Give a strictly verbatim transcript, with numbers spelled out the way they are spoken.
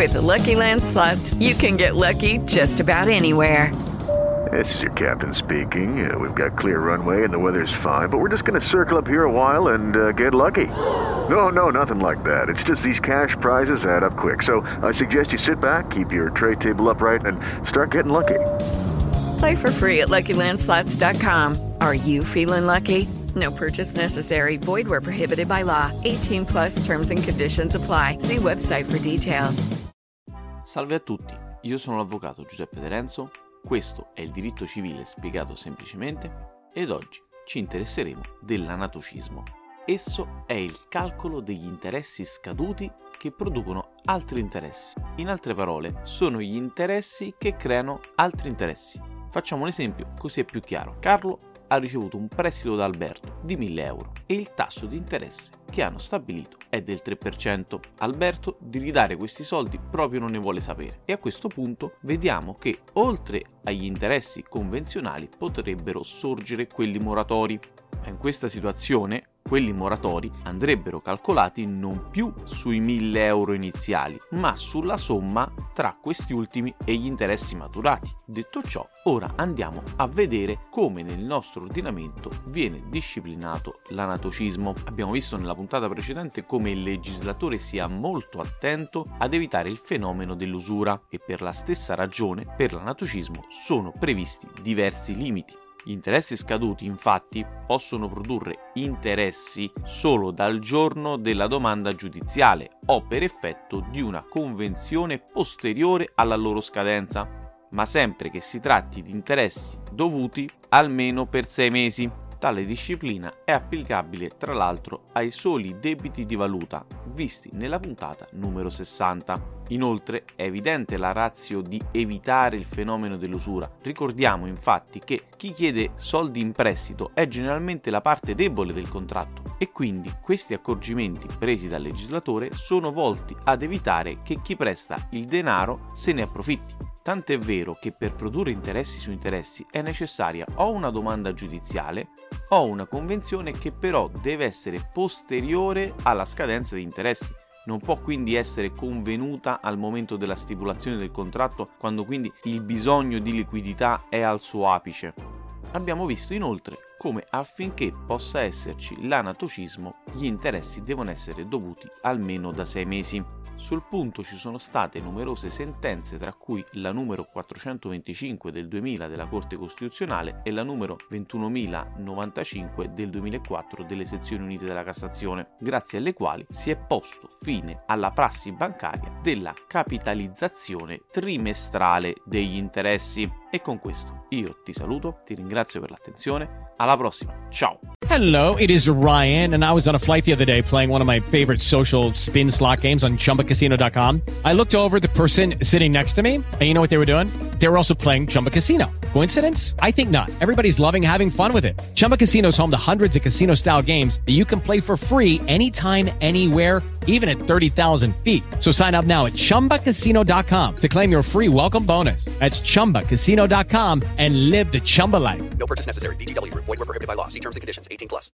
With the Lucky Land Slots, you can get lucky just about anywhere. This is your captain speaking. Uh, we've got clear runway and the weather's fine, but we're just going to circle up here a while and uh, get lucky. No, no, nothing like that. It's just these cash prizes add up quick. So I suggest you sit back, keep your tray table upright, and start getting lucky. Play for free at Lucky Land Slots dot com. Are you feeling lucky? No purchase necessary. Void where prohibited by law. eighteen plus terms and conditions apply. See website for details. Salve a tutti, io sono l'avvocato Giuseppe De Renzo, questo è il diritto civile spiegato semplicemente ed oggi ci interesseremo dell'anatocismo. Esso è il calcolo degli interessi scaduti che producono altri interessi. In altre parole, sono gli interessi che creano altri interessi. Facciamo un esempio così è più chiaro. Carlo ha ricevuto un prestito da Alberto di mille euro e il tasso di interesse che hanno stabilito è del tre per cento. Alberto di ridare questi soldi proprio non ne vuole sapere e a questo punto vediamo che oltre agli interessi convenzionali potrebbero sorgere quelli moratori. In questa situazione quelli moratori andrebbero calcolati non più sui mille euro iniziali, ma sulla somma tra questi ultimi e gli interessi maturati. Detto ciò, ora andiamo a vedere come nel nostro ordinamento viene disciplinato l'anatocismo. Abbiamo visto nella puntata precedente come il legislatore sia molto attento ad evitare il fenomeno dell'usura e per la stessa ragione per l'anatocismo sono previsti diversi limiti. Gli interessi scaduti, infatti, possono produrre interessi solo dal giorno della domanda giudiziale o per effetto di una convenzione posteriore alla loro scadenza, ma sempre che si tratti di interessi dovuti almeno per sei mesi. Tale disciplina è applicabile tra l'altro ai soli debiti di valuta visti nella puntata numero sessanta. Inoltre è evidente la ratio di evitare il fenomeno dell'usura. Ricordiamo infatti che chi chiede soldi in prestito è generalmente la parte debole del contratto e quindi questi accorgimenti presi dal legislatore sono volti ad evitare che chi presta il denaro se ne approfitti. Tant'è vero che per produrre interessi su interessi è necessaria o una domanda giudiziale o una convenzione che però deve essere posteriore alla scadenza di interessi. Non può quindi essere convenuta al momento della stipulazione del contratto, quando quindi il bisogno di liquidità è al suo apice. Abbiamo visto inoltre come affinché possa esserci l'anatocismo gli interessi devono essere dovuti almeno da sei mesi. Sul punto ci sono state numerose sentenze, tra cui la numero quattrocentoventicinque del duemila della Corte Costituzionale e la numero ventunomilanovantacinque del duemilaquattro delle Sezioni Unite della Cassazione, grazie alle quali si è posto fine alla prassi bancaria della capitalizzazione trimestrale degli interessi. E con questo io ti saluto, ti ringrazio per l'attenzione, alla prossima, ciao! Hello, it is Ryan, and I was on a flight the other day playing one of my favorite social spin slot games on Chumba Casino dot com. I looked over at the person sitting next to me, and you know what they were doing? They were also playing Chumba Casino. Coincidence? I think not. Everybody's loving having fun with it. Chumba Casino is home to hundreds of casino-style games that you can play for free anytime, anywhere, even at thirty thousand feet. So sign up now at Chumba Casino dot com to claim your free welcome bonus. That's Chumba Casino dot com and live the Chumba life. No purchase necessary. V G W. Void where prohibited by law. See terms and conditions. eighteen plus.